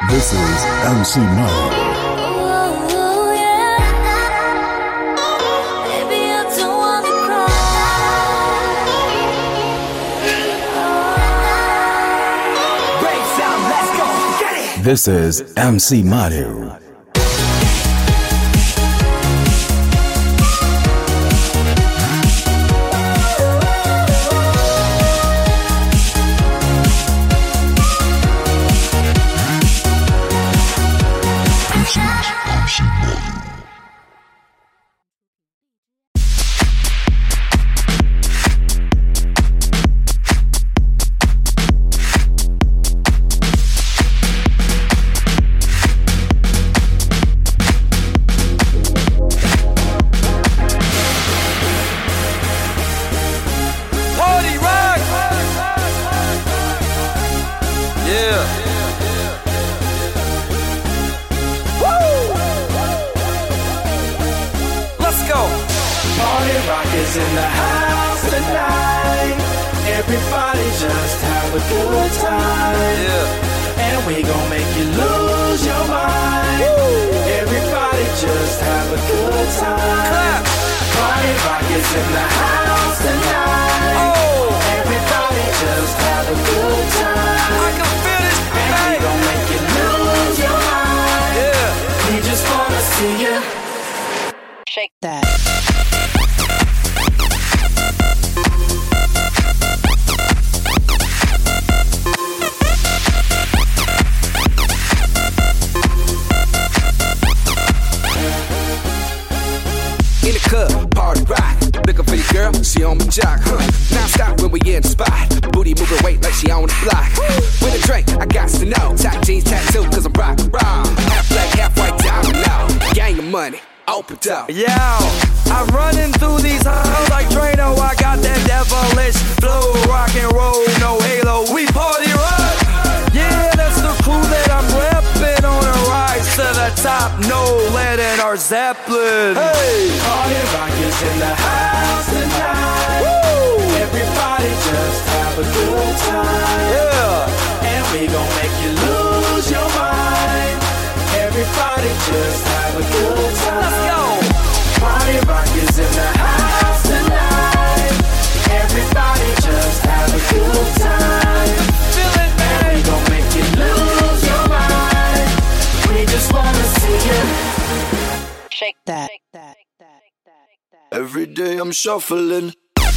This is MC Mo. This is MC Madhu. Yo, I'm running through these halls like Drano. I got that devilish flow, rock and roll, no halo. We party rock. Yeah, that's the crew that I'm repping on a rise to the top. No lead in our Zeppelin. Hey, party rock is in the house tonight. Woo! Everybody just have a good time. Yeah, and we gon' make you lose your mind. Everybody just have a good time. Let's go. Party rock is in the house tonight. Everybody just have a good time. Feel it, man. And we gon' make you lose your mind. We just wanna see you shake that. Every day I'm shuffling.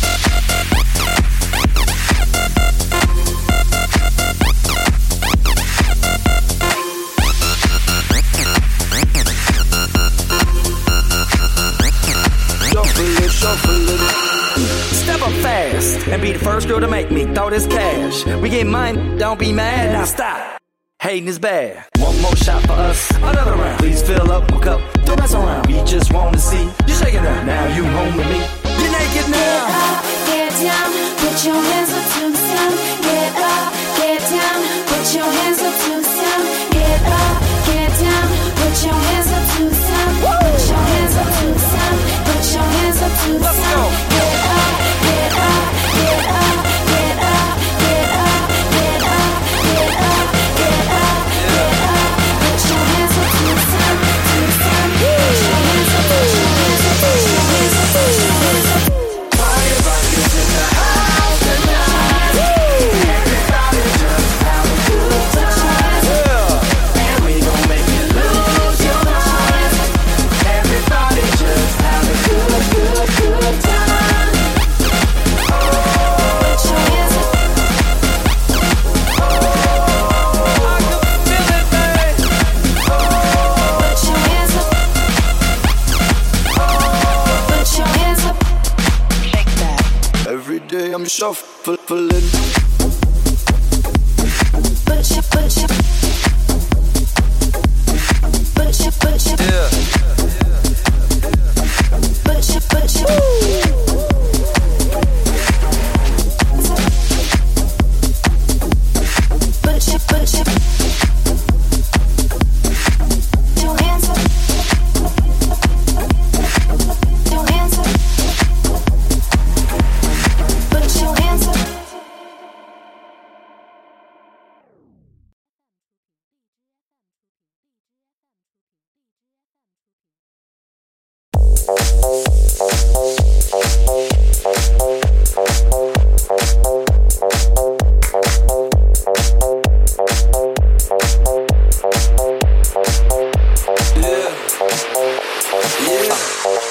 Shuffling. Step up fast and be the first girl to make me throw this cash. We get mine, don't be mad, now stop. Hating is bad. One more shot for us, another round. Please fill up my cup, don't mess around. We just wanna see you shaking it. Now you home with me. You're naked now. Get up, get down, put your hands up to the sound. Get up, get down, put your hands up to the sound. Get up, get down, put your hands up to the sound. Put your hands up to the sound. Put your hands up to the sound. Get up, get up, get up, get up, get up, get up, get up, get up, get up. Put your hands up to the sound, to the sound. Put your hands up, put your hands up, put your hands up, put your hands up. Party rock is in the house tonight. Everybody just have a good time. And we gon' make you lose your mind. Everybody just have a good time. Put your hands up. I can feel it, babe. Put your hands up. Put your hands up. Shake that. Every day I'm shuffling. Put your Yeah. put your your hands up. Your hands up. Put your hands up.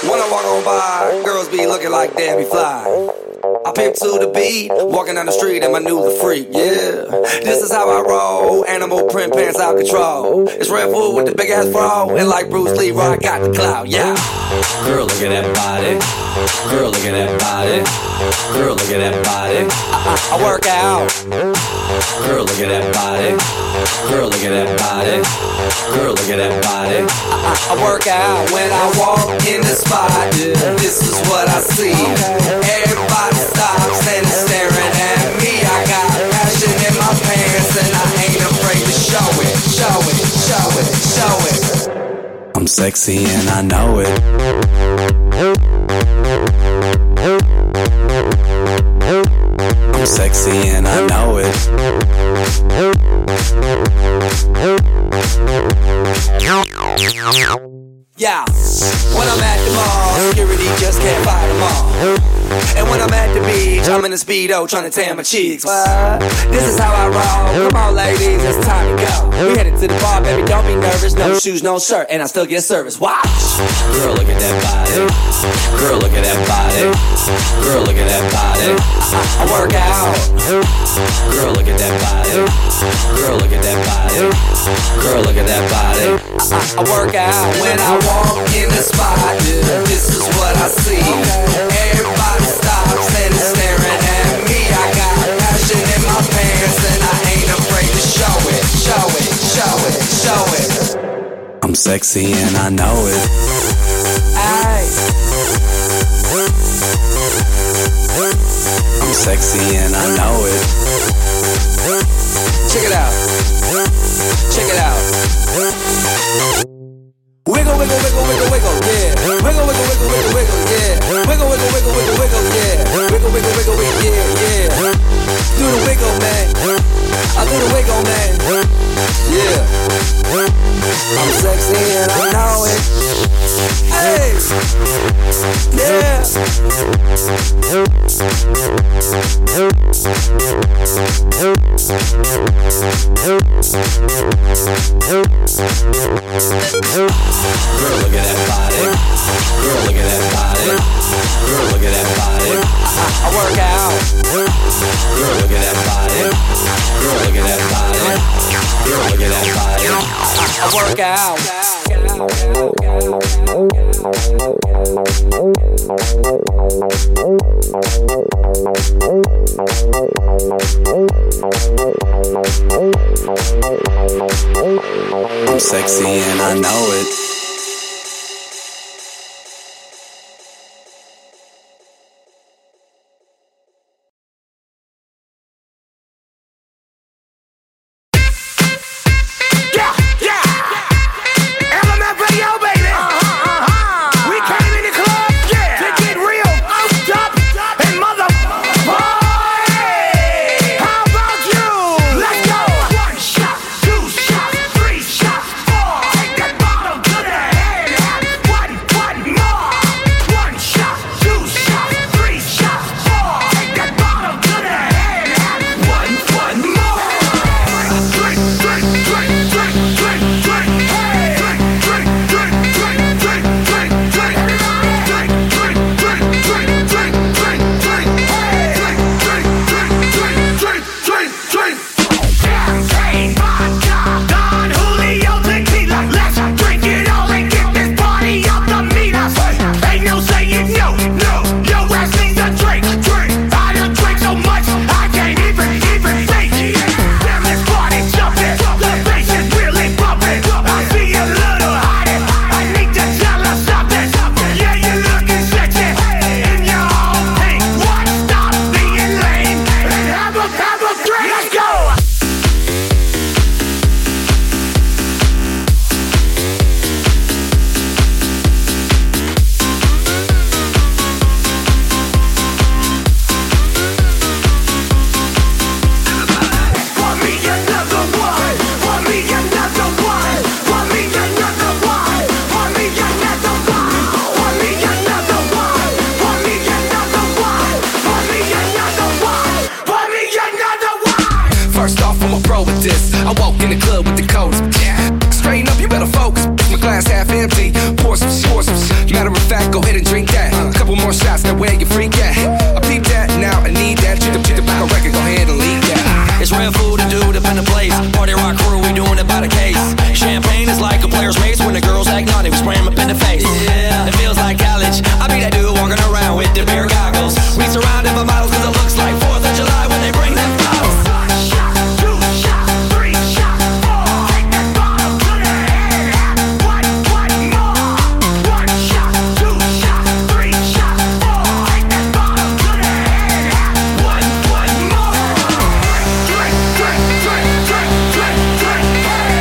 When I walk on by, girls be looking like Debbie Fly. I pimp to the beat, walking down the street and my new the freak, yeah. This is how I roll, animal print pants out control. It's Red Bull with the big ass bra, and like Bruce Lee, I got the clout, yeah. Girl, look at that body. Girl, look at that body. Girl, look at that body. I work out. Girl, look at that body. Girl, look at that body. Girl, look at that body. I work out when I walk in the spot. This is what I see. Everybody stops and is staring at me. I got passion in my pants and I ain't afraid to show it. Show it, show it, show it. I'm sexy and I know it. I'm sexy and I know it. Yeah, when I'm at the mall, security just can't fight them all. And when I'm at the beach, I'm in a Speedo trying to tan my cheeks. What? This is how I roll. Come on, ladies, it's time to go. We headed to the bar, baby, don't be nervous. No shoes, no shirt, and I still get service. Watch. Girl, look at that body. Girl, look at that body. Girl, look at that body. I work out. Girl, look at that body. Girl, look at that body. Girl, look at that body. I work out when I walk in the spot. This is what I see. Everybody stops and is staring at me. I got passion in my pants and I ain't afraid to show it. Show it, show it, show it. I'm sexy and I know it. Aye. I'm sexy and I know it. Check it out. Check it out. Wiggle, wiggle, wiggle, wiggle, wiggle, yeah. Wiggle, wiggle, wiggle, wiggle, wiggle, yeah. Wiggle, wiggle, wiggle, wiggle, wiggle, yeah. Wiggle, wiggle, wiggle, wiggle, yeah, yeah. Do the wiggle, man. I do the wiggle, man. Yeah. I'm sexy and I know it. Hey. Yeah. Girl, look at that body. Girl, look at that body. Girl, look at that body. I work out. Girl, look at that body. Girl, look at that body. Girl, look at that body. I work out. I'm sexy and I know it. Matter of fact, go hit a face. Party rock crew, we doing it by the case. Champagne is like a player's mace. When the girls act naughty, we spray 'em up in the face. Yeah, it feels like college. I be that dude walking around with the beer goggles. We surrounded by models cause it looks like 4th of July when they bring them bottles. 1 shot, 2 shot, 3 shot, 4. Take that bottle to the head. What more? 1 shot, 2 shot, 3 shot, 4. Take that bottle to the head. What more? Drink, drink, drink, drink, drink, drink, drink.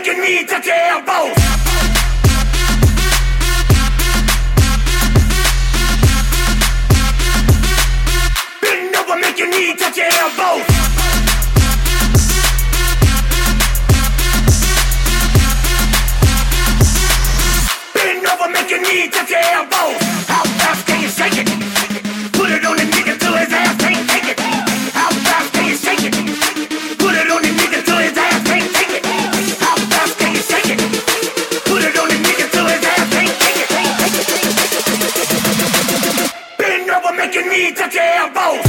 make you need to tell both. Bend over, make you need to tell both. Bend over, make you need to tell both. How fast can you shake it? Put it on the nigga till his ass can't take it. How fast can you shake it? Put it on the nigga till his ass can't take it. How fast can you shake it? Put it on the nigga till his ass can't take it. Bend over, make you need to tell both.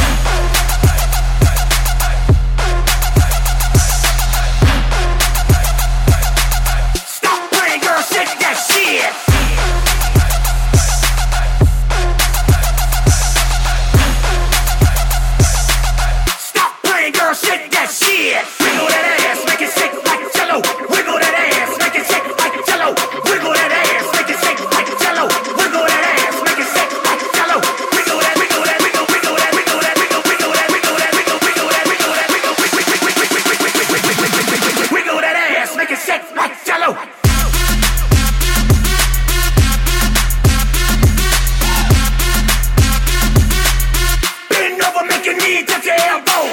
Stop playing, girl, shake that shit. Girl, shake that shit. Wiggle that ass, make it shake like jello. Wiggle that ass, make it shake like jello. Wiggle that ass, make it shake like jello. Wiggle that ass, make it shake like jello. Wiggle that, wiggle that, wiggle, wiggle that, wiggle that, wiggle, wiggle that, wiggle that, wiggle, wiggle that, wiggle that, wiggle, wiggle that ass, make it shake like jello. Bend over, make you need to tell both.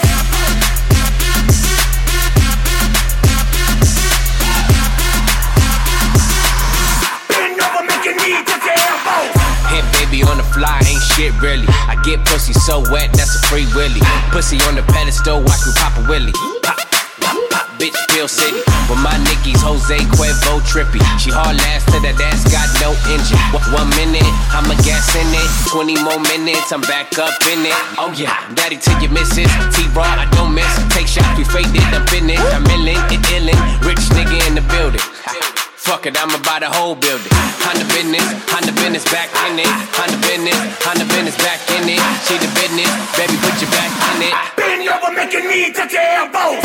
Hit baby on the fly, ain't shit really. I get pussy so wet, that's a free willy. Pussy on the pedestal, watch me pop a willy. Pop, pop, pop, bitch, Bill City. With my Nickies, Jose Cuervo trippy. She hard last to that ass, got no engine. 1 minute, I'ma gas in it. 20 more minutes, I'm back up in it. Oh yeah, daddy to your missus. T-Raw, I don't miss. Take shots, we faked it, I'm finished. I'm illin', it illin'. Rich nigga in the building. Fuck it, I'ma buy the whole building. Honda business, back in it. Honda business, back in it. She the business, baby, put your back in it. Bend over, make you need to tell both.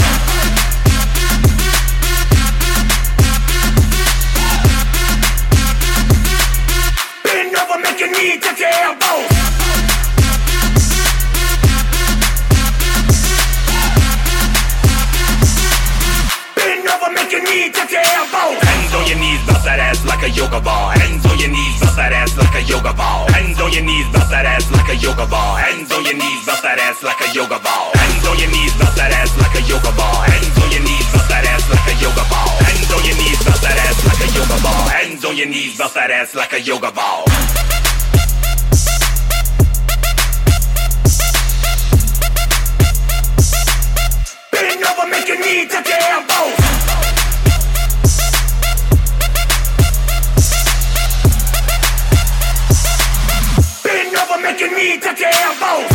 Bend over, make you need to tell both. Bend over, make you need to tell both. Hands on your knees, bounce that ass like a yoga ball. Hands on your knees, bounce that ass like a yoga ball. Hands on your knees, bounce that ass like a yoga ball. Hands on your knees, bounce that ass like a yoga ball. Hands on your knees, bounce that ass like a yoga ball. Hands on your knees, bounce that ass like a yoga ball. Hands on your knees, bounce that ass like a yoga ball. Hands on your knees, bounce that ass like a yoga ball. Bend over, make you need to tell both. Bend over, make you need to tell both.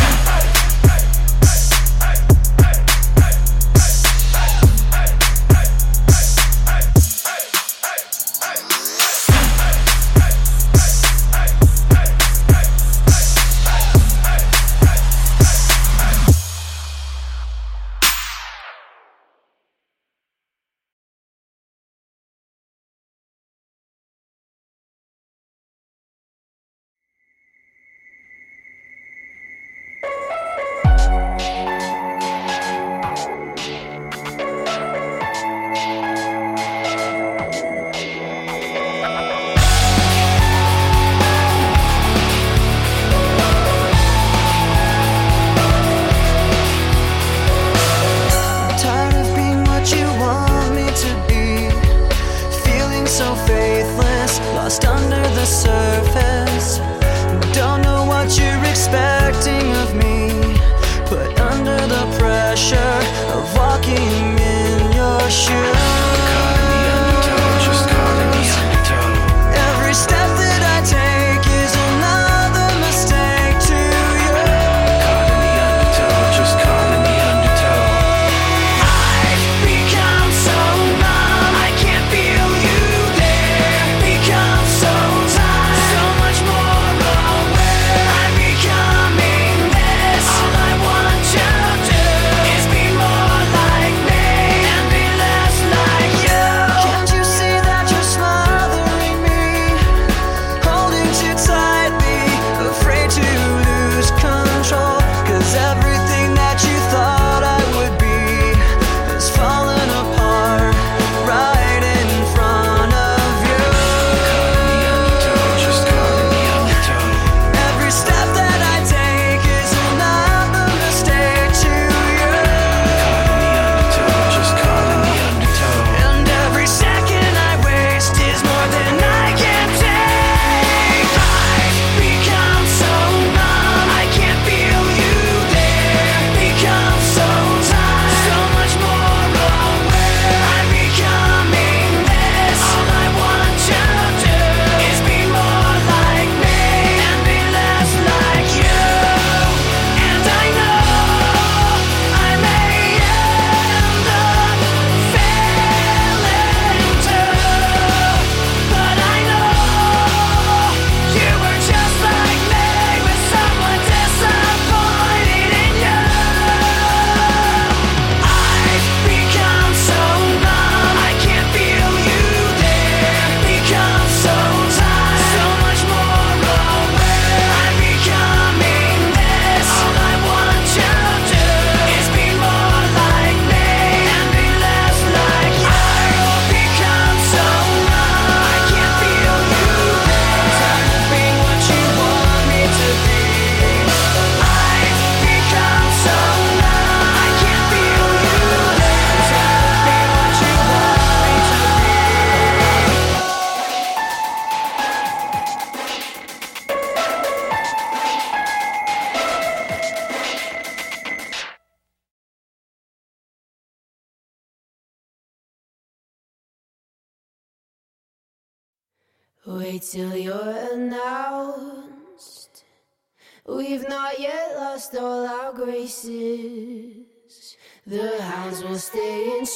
Wait till you're announced. We've not yet lost all our graces. The hounds will stay in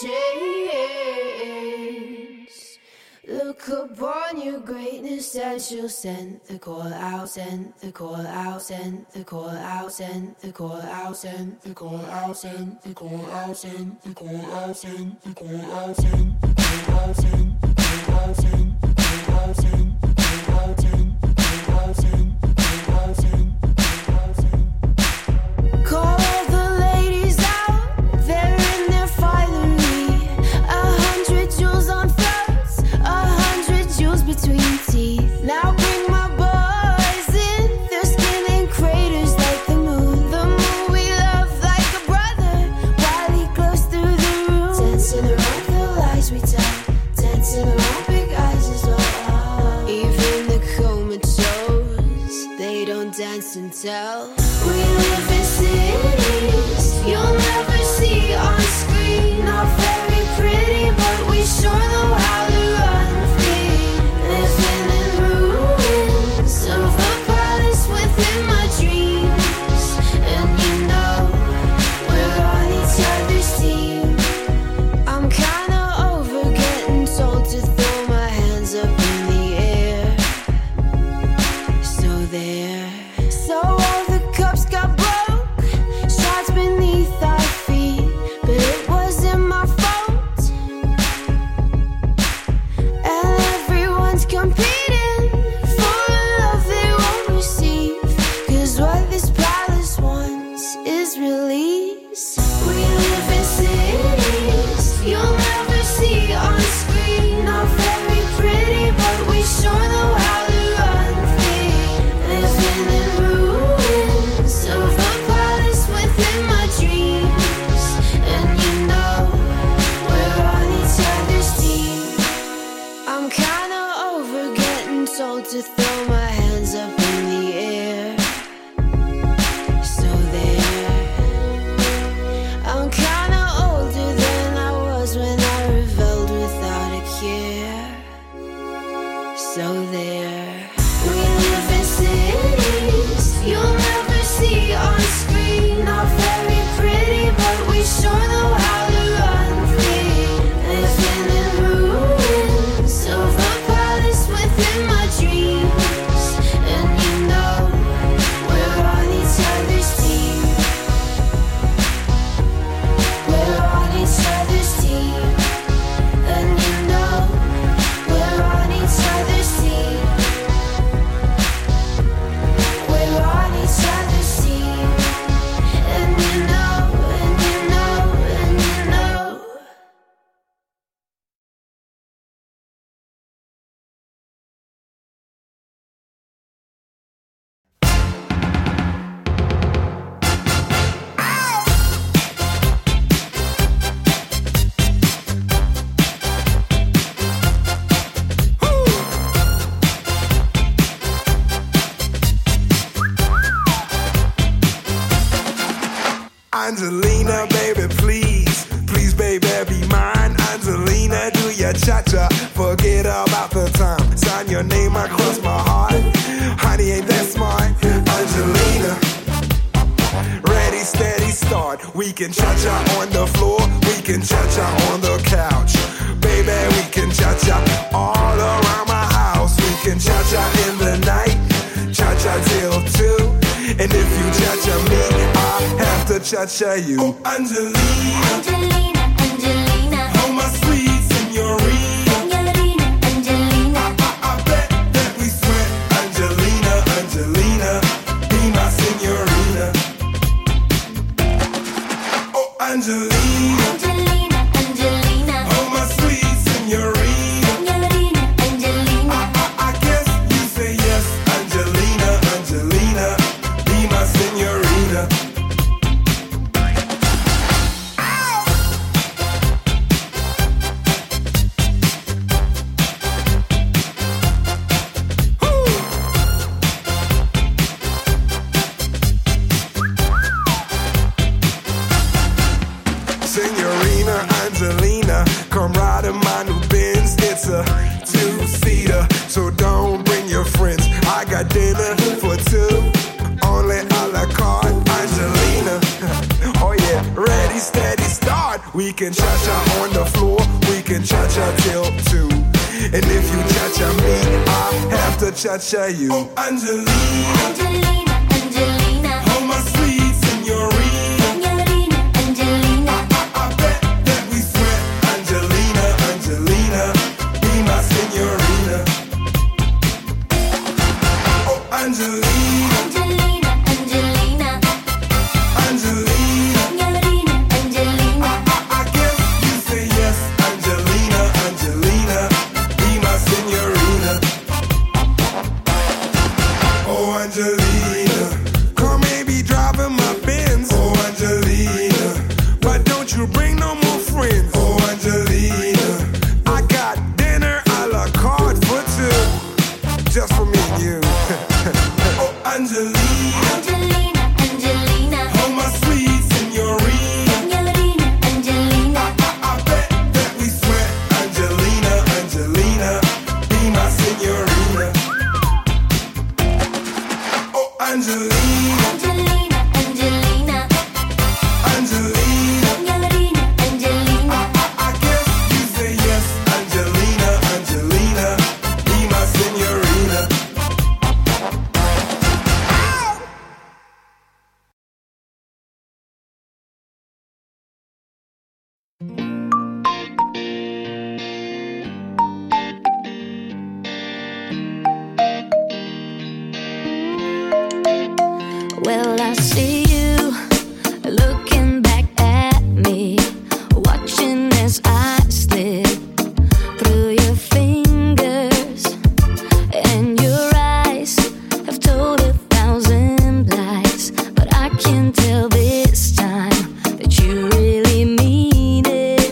chains. Look upon your greatness and she'll send the call out, send the call out, send the call out, send the call out, send the call out, send the call out, send the call out, send the call out, send the call out, send the call out, send the call out, send the call out, send the call out, send the call out, send the call out, send. Call all the ladies out, they're in their finery. 100 jewels on throats, 100 jewels between teeth. Now bring my boys in, their skin in craters like the moon. The moon we love like a brother, while he glows through the room. Dancing around the lies we tell, dancing around big eyes as well. Even the comatose, they don't dance and tell. We live in cities you'll never see on screen. Not very pretty, but we sure know how to run free. Living in ruins of a palace within my dreams. And you know, we're on each other's team. I'm kinda over getting told to throw my hands up in the air. So there. So all the cups got broke, shards beneath our feet, but it wasn't my fault. And everyone's competing for a love they won't receive, 'cause what this palace wants is release. We live in cities you'll never see on screen. Not very pretty, but we sure know how to run free. Living in ruins of a palace within my dreams. And you know, we're on each other's team. I'm kinda over getting told to throw my hands up in the air. So there. I'm kinda older than I was when I rebelled without a care. So there. We live in cities you'll never see on screen. Not very pretty, but we sure know how to run free. Living in ruins of a palace within my dreams. And you know, we're on each other's team. We're on each other's team. And you know, we're on each other's team. We're on each other's team. And you know, and you know, and you know. Angelina, baby, please, please, baby, be mine. Angelina, do your cha-cha, forget about the time. Sign your name across my heart. Honey, ain't that smart? Angelina, ready, steady, start. We can cha-cha on the floor, we can cha-cha on the couch. Baby, we can cha-cha all around my house. We can cha-cha in the night, cha-cha till 2. And if you cha-cha me, I have to cha-cha you. Oh, Angelina, Angelina, Angelina, oh my sweet señorita. Angelina, Angelina. I bet that we sweat. Angelina, Angelina, be my señorita. Oh, Angelina, Angelina, Angelina, oh my sweet señorita. Angelina, Angelina. I guess you say yes. Angelina, Angelina, be my señorita. till 2. And if you cha-cha me, I have to cha-cha you. Oh, Angelina, Angelina, Angelina, oh my sweet signorina. Signorina, Angelina. I bet that we sweat. Angelina, Angelina, be my signorina. Oh, Angelina, Angelina, Angelina, Angelina. Signorina, Angelina. I guess you say yes. Angelina, Angelina, be my signorina. Oh, Angelina, car may be driving my Benz. Oh, Angelina, why don't you bring no more friends? Oh, Angelina, I got dinner a la carte for 2, just for me and you. Oh, Angelina, Angelina, Angelina, oh my sweet signorina. Signorina, Angelina. I bet that we sweat. Angelina, Angelina, be my signorina. Oh, Angelina, Angelina, Angelina, Angelina. Signorina, Angelina. I guess you say yes. Angelina, Angelina, be my signorina. Well, I see you looking back at me, watching as I slip through your fingers, and your eyes have told 1,000 lies, but I can tell this time that you really mean it.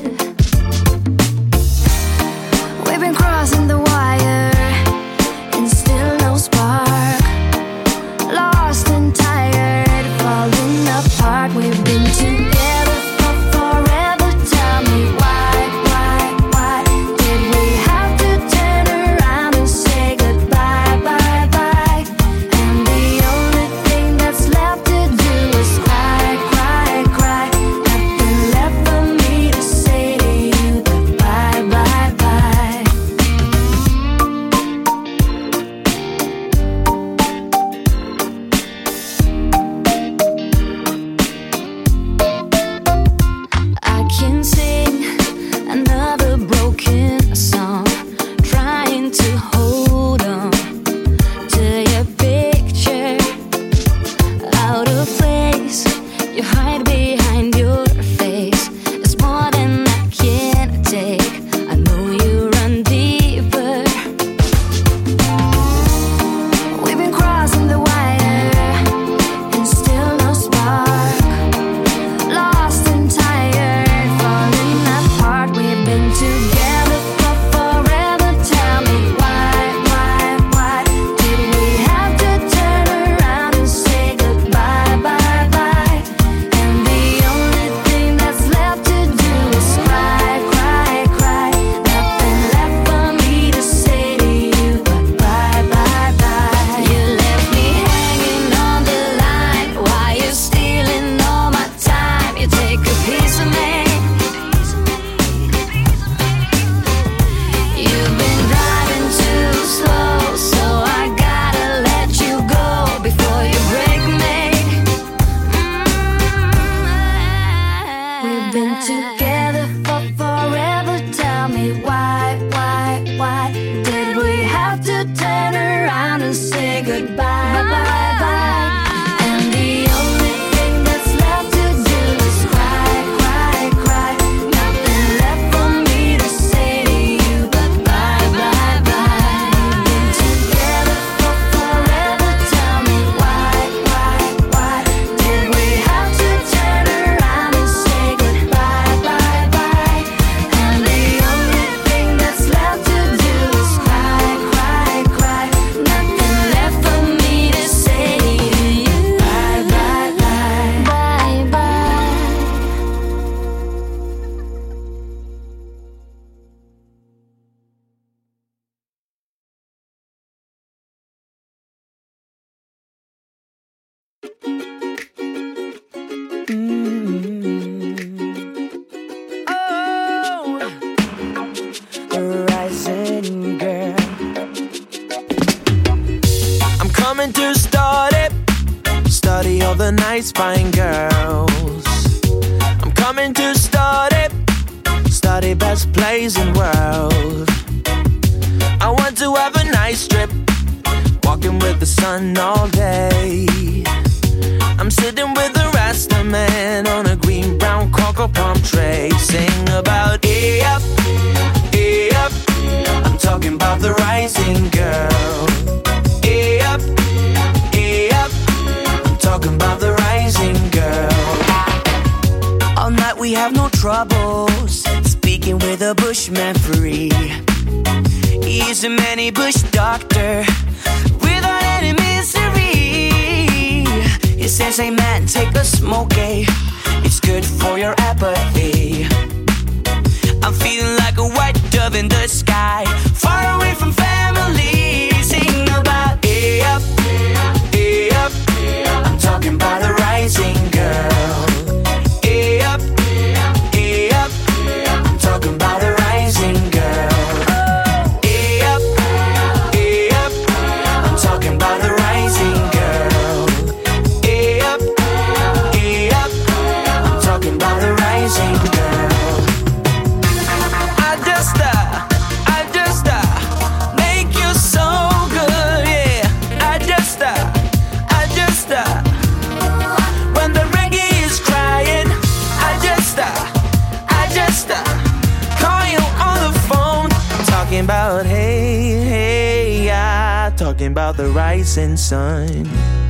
We've been crossing the wire and still no spark. Lost and tired, falling apart. We've been together for forever. Tell me why did we have to turn around and say goodbye, bye, bye? And the only thing that's left to do is cry, cry, cry. Nothing left for me to say to you goodbye, bye, bye. I can sing another broken song, trying to hold on to your picture. Out of place, you hide behind your face. It's more than I can take. I know you run deeper. We've been crossing the wire and still no spark. Lost and tired, falling apart. We've been together for forever. Tell me why did we have to turn around and say goodbye, bye, bye? And the only thing that's left to do is cry, cry, cry. Nothing left for me to say to you goodbye, bye, bye. You left me hanging on the line while you're stealing all my time. You take a piece of me. You've been driving too slow, so I gotta let you go before you break me. We've been together for forever. Tell me why did we have to turn around and say goodbye, bye, bye? And the only thing that's left to do is cry, cry, cry. Nothing left for me to say to you goodbye, bye, bye. Been together for forever. Tell me why did we have to turn around and say goodbye, bye, bye? And the only thing that's left to do is rising girl. I'm coming to study all the nice fine girls. I'm coming to study best place in world. I want to have a nice trip, walking with the sun all day. I'm sitting with the Rasta man on a green brown cocoa palm tray, sing about hey up, hey up. I'm talking about the rising girl. Hey up, hey up. I'm talking about the rising girl. All night we have no troubles, speaking with a bushman free. He's a many bush doctor without any misery. He says, hey man, take a smoke, eh? It's good for your apathy. I'm feeling like a white dove in the sky, far away from family. Sing about hey up, hey up. I'm talking about the rising girl. Hey up, hey up. I'm talking about the rising girl. Hey up, hey up. I'm talking about the rising girl. Hey up, hey up. I'm talking about the rising girl. I just make you so good, yeah. I just when the reggae is crying, I just call you on the phone, talking about hey, yeah, talking about the rising sun.